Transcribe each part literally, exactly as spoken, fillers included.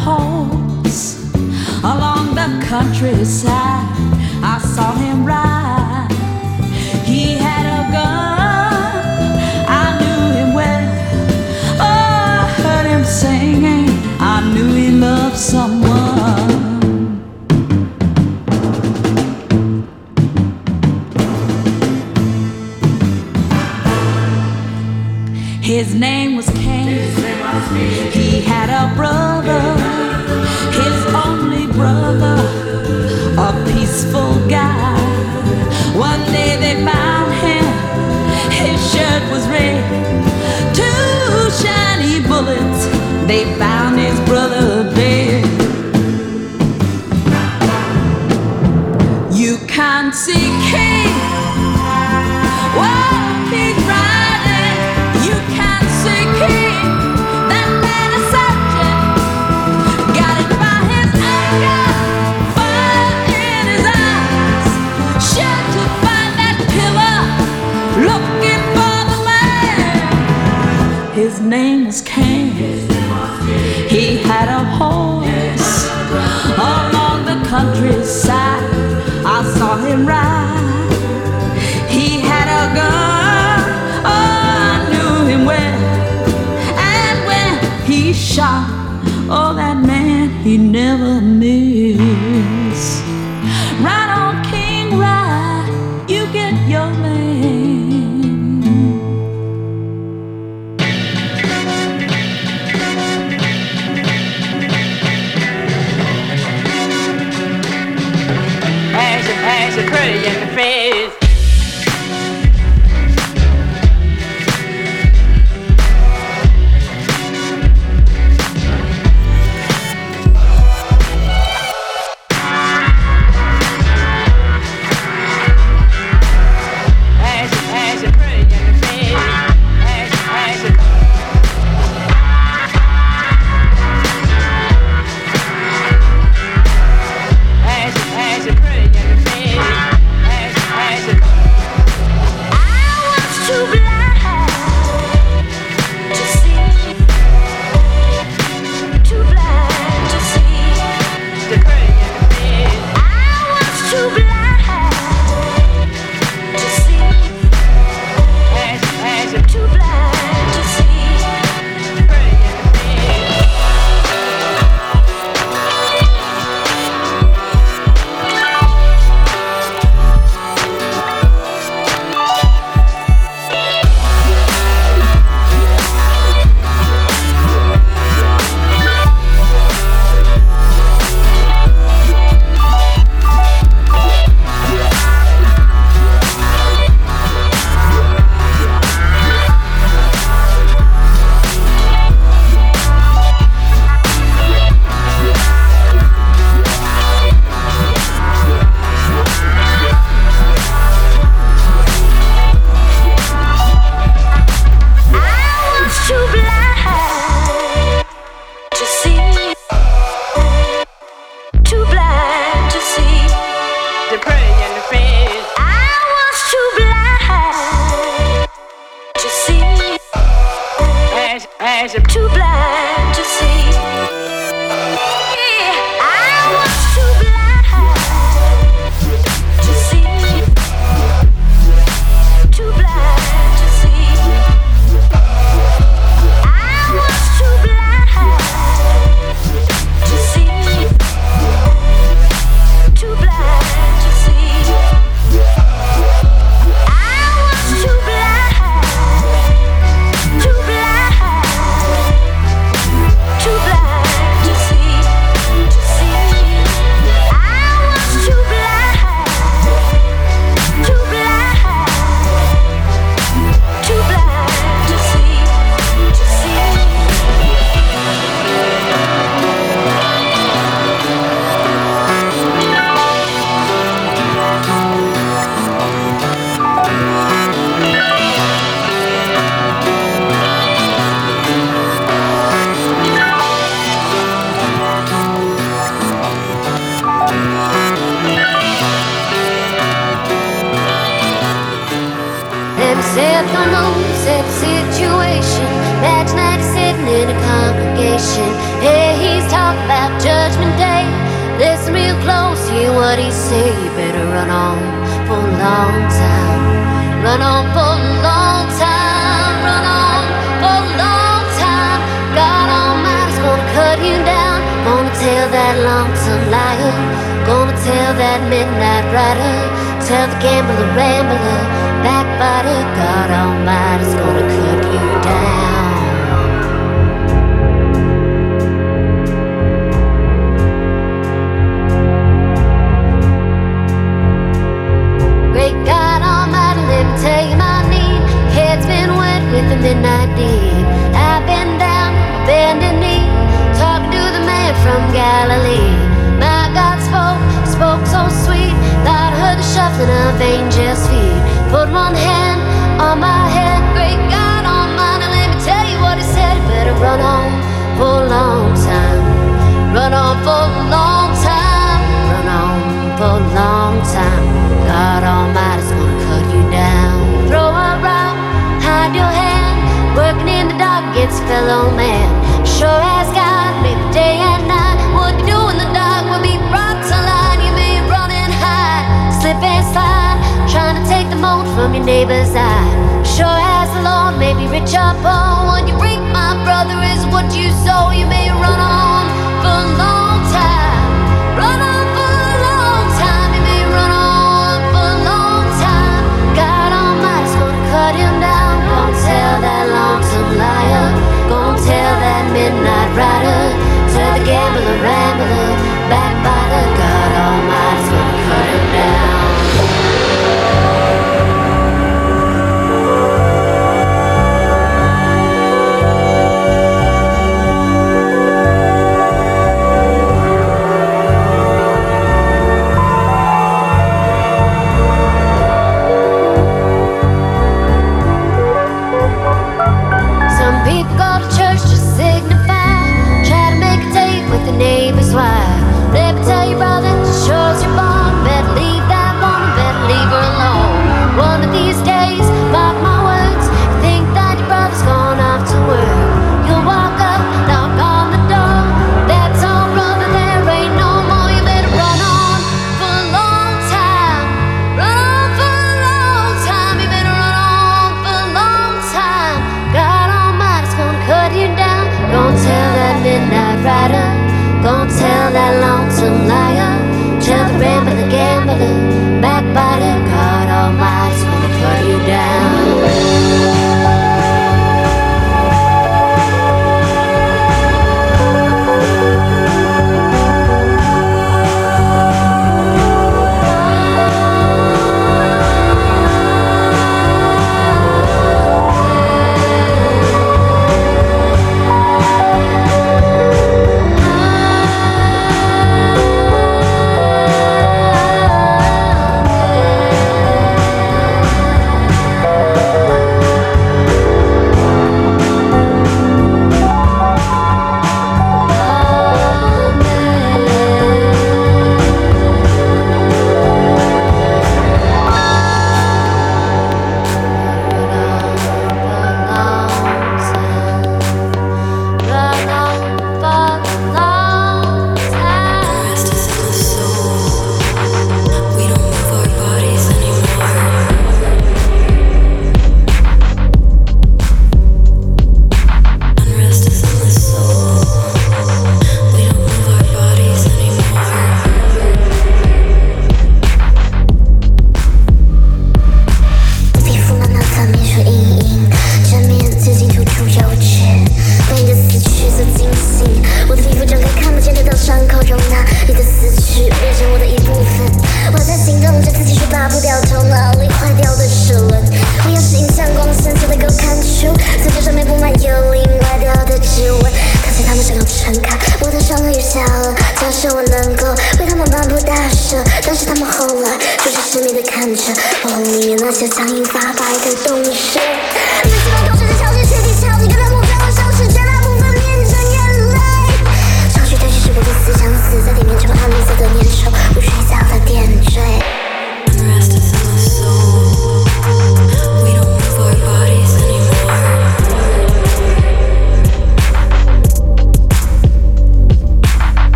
horse along the countryside. I saw him ride. He had a gun. I knew him well. Oh, I heard him singing. I knew he loved someone. His name was Cain. He had a brother, his only brother, a peaceful guy. One day they found him, his shirt was red. Two shiny bullets, they found his brother dead. You can't see Cain. Whoa, he's riding. You can't see King. That man is subject. Got it by his anger. Fire in his eyes. Sure to find that killer. Looking for the man. His name was Cain. He had a horse along the countryside. I saw him ride. He had a gun. Well, and when he shot, oh, that man he never missed. Right on, King, right, you get your man. As a, as a pretty in the face. eyes are too blind to see. Yeah, I was too blind to see. Too blind to see. I was too blind to see. Too blind to see. I was too blind. Too blind. Too blind to see, to see. I was too blind, too blind, too blind to see, to see. Let me set the mood, set the situation. Imagine that he's sitting in a congregation. Hey, he's talking about Judgment Day. Listen real close, hear what he say. You better run on for a long time. Run on for a long time. Run on for a long time. God Almighty's gonna cut you down. Gonna tell that lonesome liar. Gonna tell that midnight rider. Tell the gambler, rambler, backbiter. God Almighty's gonna cut you down. Great God Almighty, let me tell you my need. Head's been wet with the midnight deed. I've been down, bending knee, talking to the man from Galilee. My God spoke, spoke so sweet. Thought I heard the shuffling of angels' feet. Put one hand on my head. Great God Almighty, let me tell you what he said. You better run on for a long time. Run on for a long time. Run on for a long time. God Almighty's gonna cut you down. Throw a rock, hide your hand. Working in the dark against fellow man. Sure as God made the day and night. What you do in the dark will be brought to light. You may run and hide, slip and slide, trying to take the mote from your neighbor's eye. Sure as the Lord may be rich or poor, what you reap, my brother, is what you sow. You may run on for a long time. Run on for a long time. You may run on for a long time. God Almighty's gonna cut him down. Gonna tell that lonesome liar. Gonna tell that midnight rider. Tell the gambler, rambler, backbiter. God Almighty's gonna cut him down. Some people go to church to signify, try to make a date with the neighbor's wife. Let me tell you, brother, just sure as you're born, better leave that woman, better leave her alone. One of these days, mark my words, you think that your brother's gone off to work. You'll walk up, knock on the door. That's all, brother, there ain't no more. You better run on for a long time. Run on for a long time. You better run on for a long time. God Almighty's gonna cut you down. Gonna tell that midnight rider. Gonna tell that lonesome liar. Tell the rambler, the gambler, backbiter. God Almighty's gonna cut you down.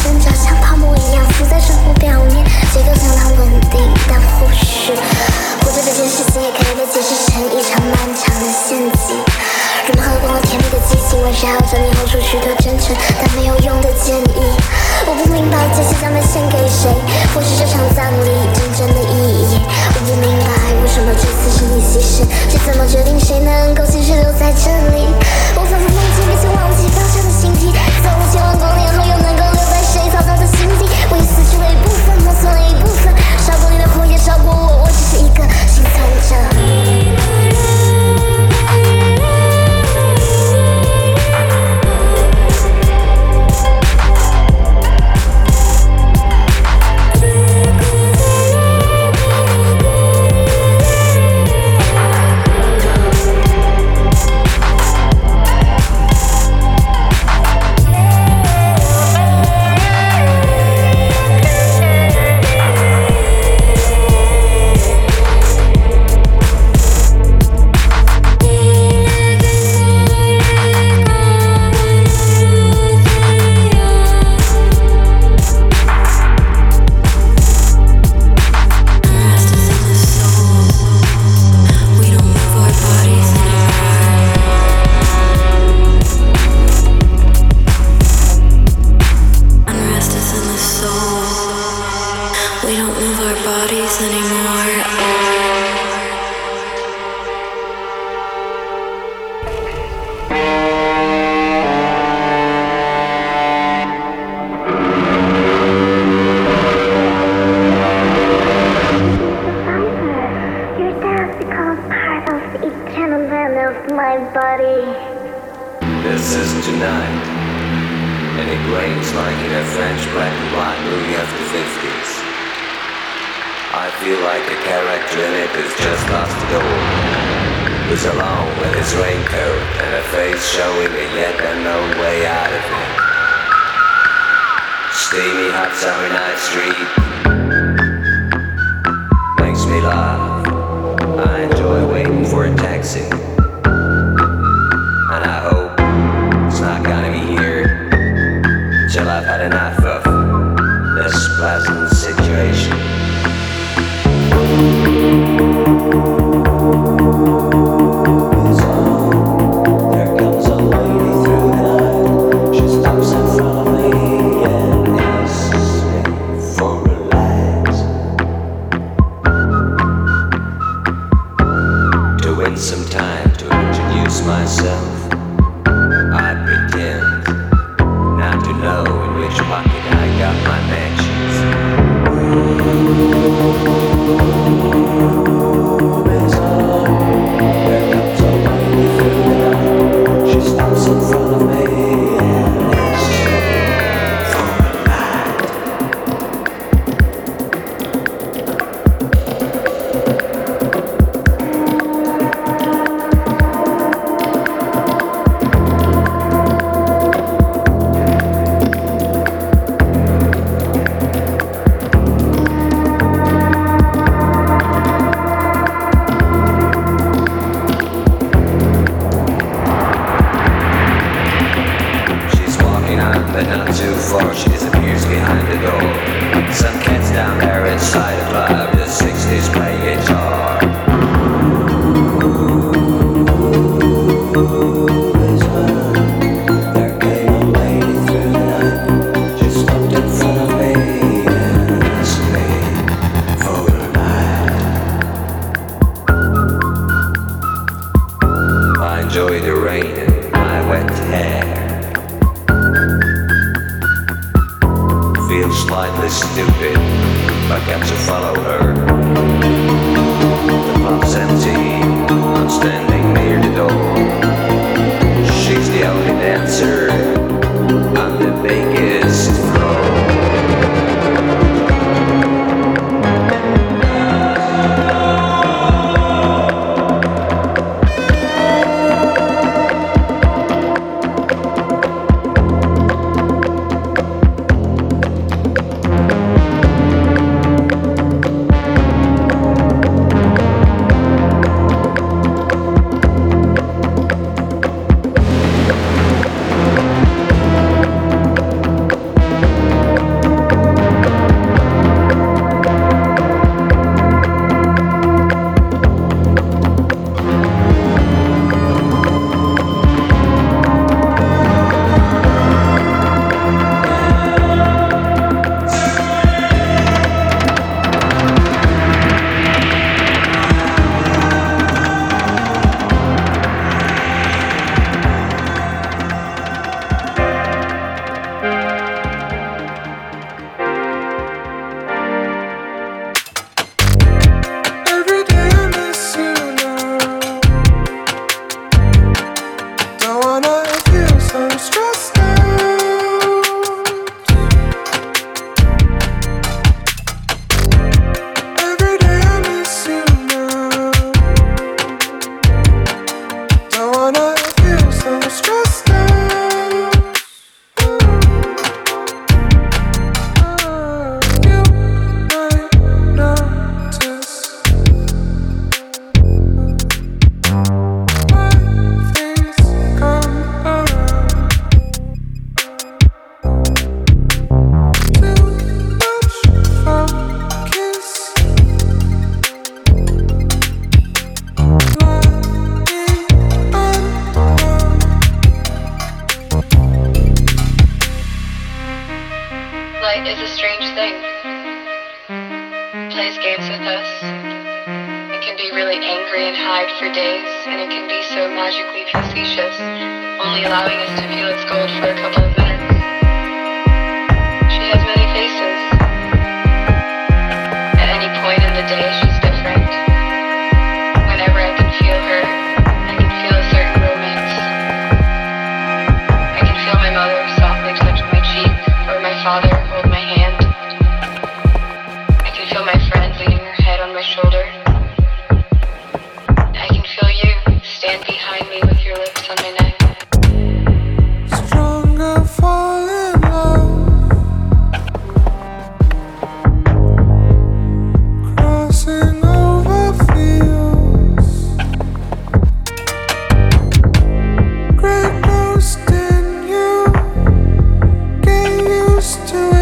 挣扎，像泡沫一样浮在生活表面，节奏相当稳定，但或许活着这件事情也可以被解释成一场漫长的陷阱。人们喝光了甜蜜的激情，围绕着你吼出许多真诚但没有用的建议。我不明白这些将被献给谁，或是这场葬礼真正的意义。我不明白为什么这次是你牺牲，是怎么决定谁能够继续留在这里。我反复梦见并且忘记当下的心悸，走了千万光年后又能够留在谁嘈杂的心底。我已死去了一部分，磨损了一部分，烧过你的火也烧过我，我只是一个幸存者。 Light is a strange thing. It plays games with us. It can be really angry and hide for days, and it can be so magically facetious, only allowing us to feel its gold for a couple of minutes. She has many faces. At any point in the day, she's different. Whenever I can feel her, I can feel a certain romance. I can feel my mother softly touch my cheek, or my father hold my hand. I can feel my friend leaning her head on my shoulder. I can feel you stand behind me with your lips on my neck. Stronger fall in love, crossing over fields, great ghost in you, get used to it.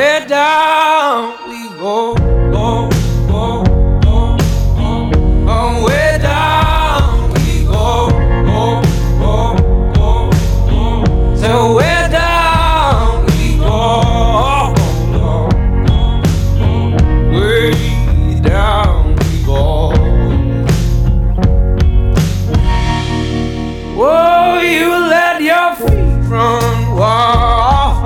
way down we go, go, go, go, go, go, way down we go, go, go, go, go, till way down we go, go, go, go, way down we go. Whoa, you let your feet run wild.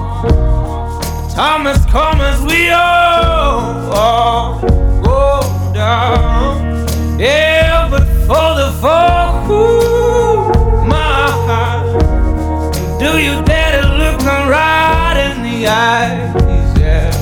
Time has come as we all, all go down. Yeah, but for the fall, ooh, my heart, do you dare to look them right in the eyes? Yeah.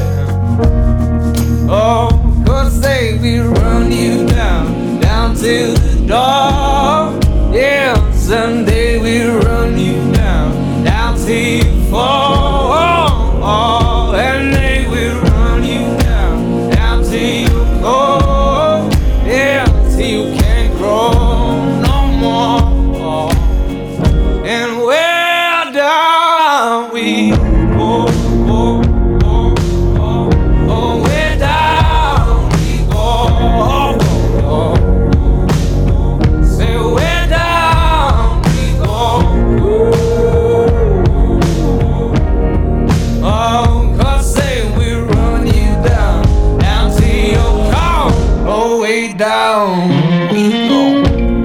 Oh, cause they will run you down, down to the door. Yeah, someday we'll run you down, down till you fall. Oh, and they will run you down, down till you go. Yeah, till you can't grow no more. And where down we go, go, go, go, oh, where down we go, go, go. Say where down we go. Oh, cause say we run you down, down to your car, oh, way down we go.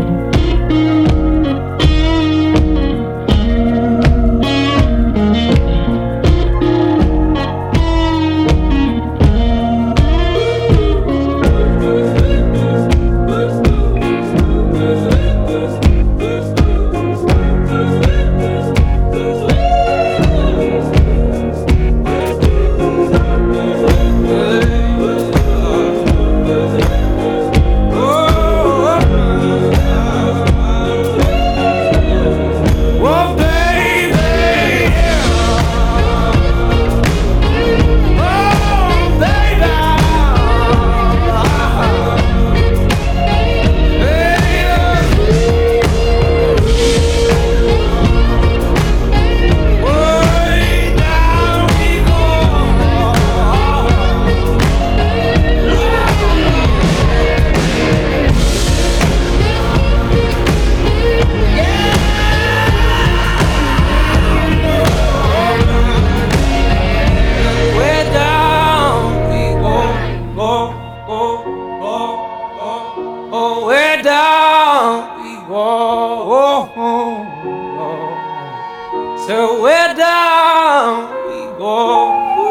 So where down we go.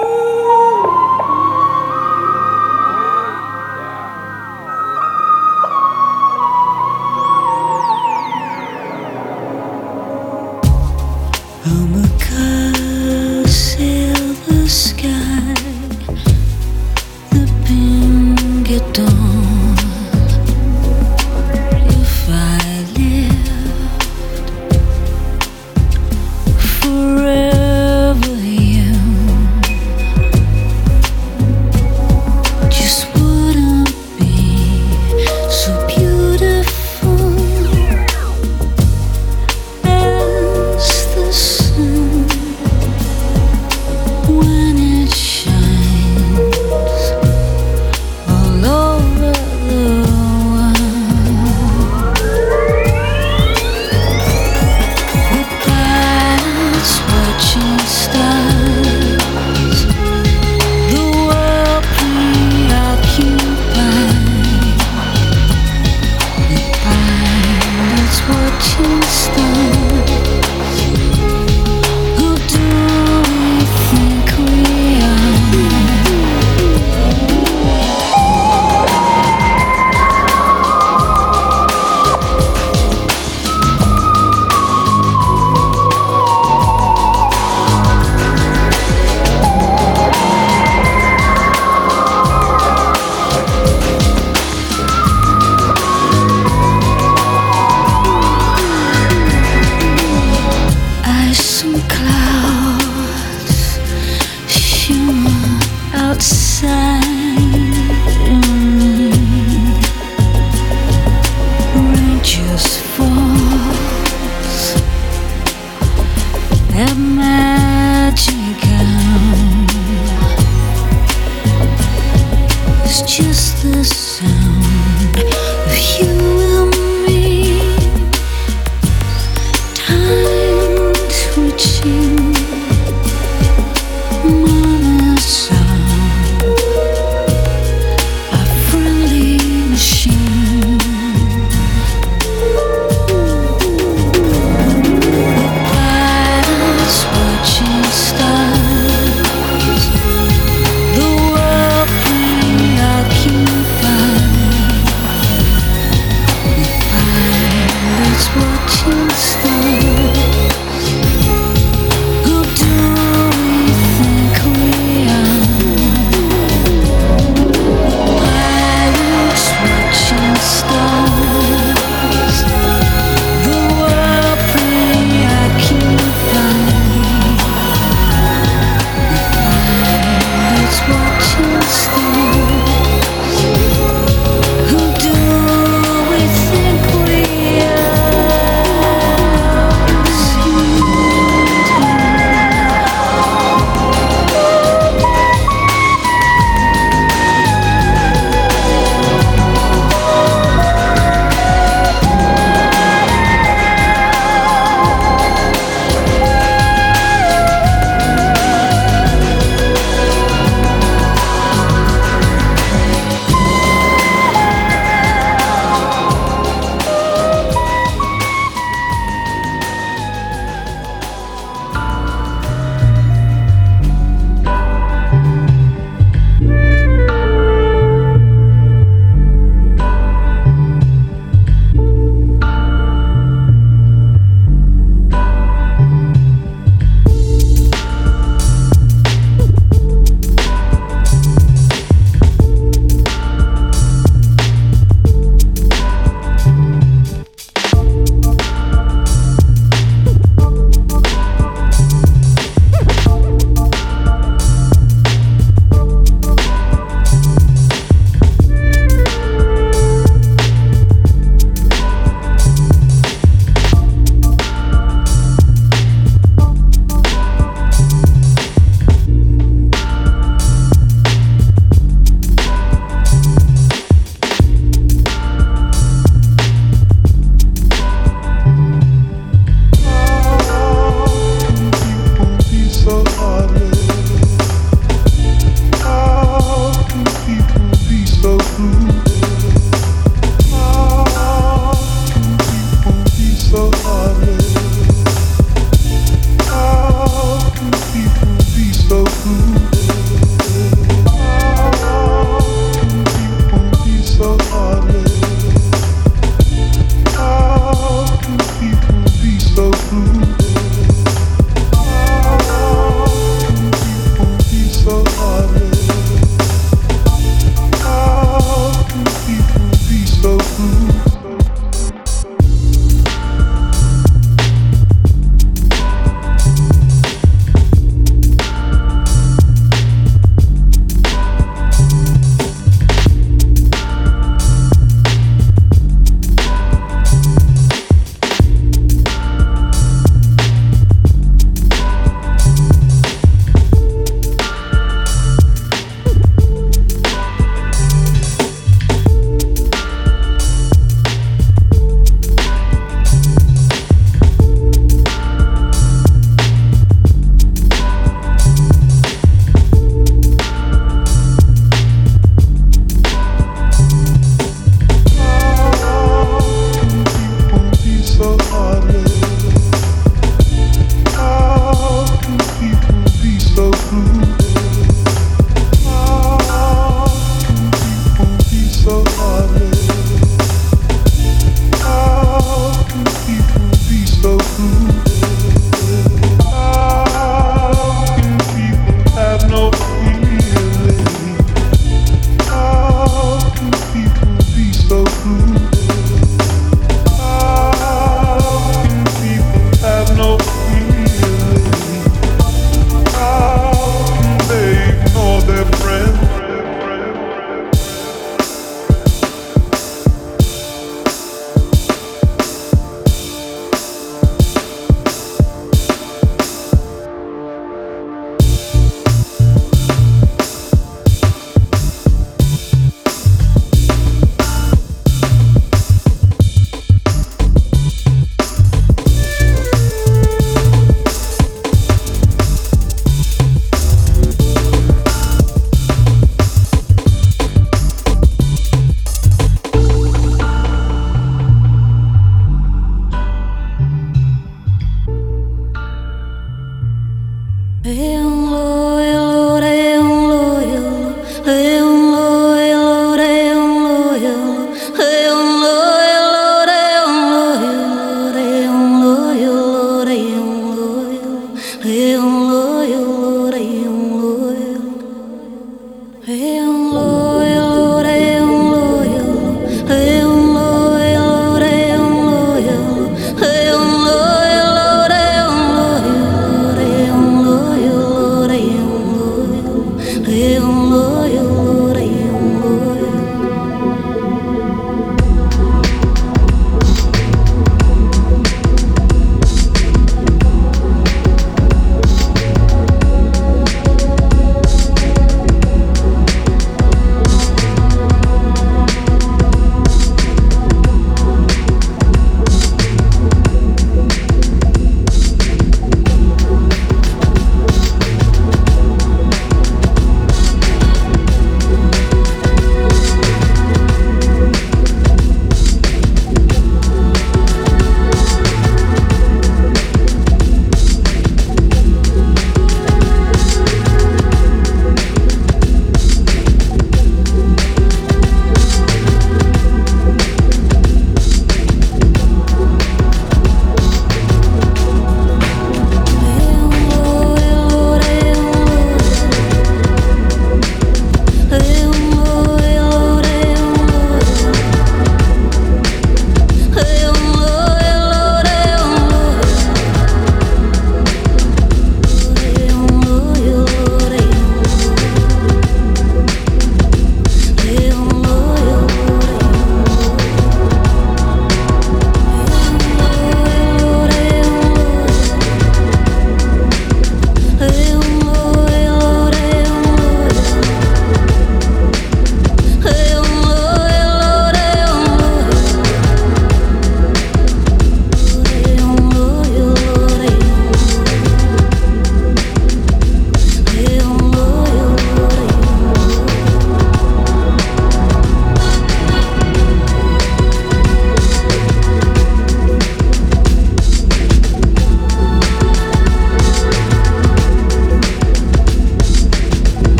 I'm a curse in the sky, the pink dawn. If I lived forever young, just wouldn't be so beautiful as the sun when it shines all over the world. With planets watching stars, the world preoccupied. With planets watching stars, who do we think we are? Ice and clouds shimmer outside me. Rain just falls at magic hour. It's just the sound of you and me. Time twitching, mama sound, a friendly machine. Pilots watching stars, the world preoccupied.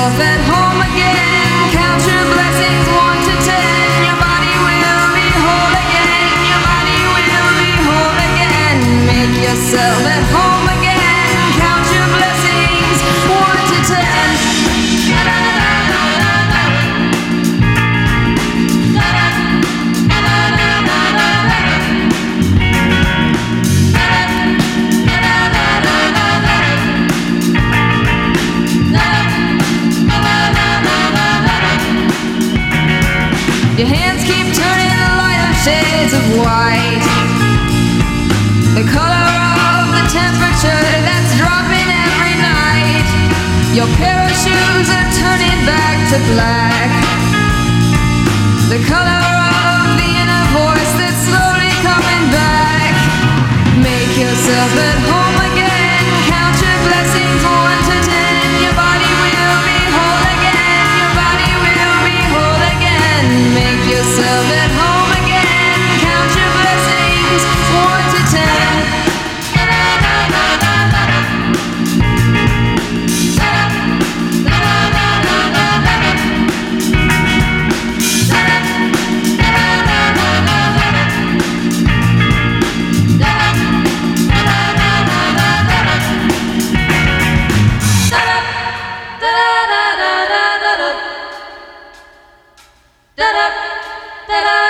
yourself at home again. Count your blessings one to ten. Your body will be whole again. Your body will be whole again. Make yourself at home again. Count your blessings one to ten. Your hands keep turning the lighter shades of white, the color of the temperature that's dropping every night. Your pair of shoes are turning back to black, the color of the inner voice that's slowly coming back. Make yourself at home again. Count your blessings one to ten. Your body will be whole again. Your body will be whole again. Make yourself at home again. Count your blessings one to ten. Da da da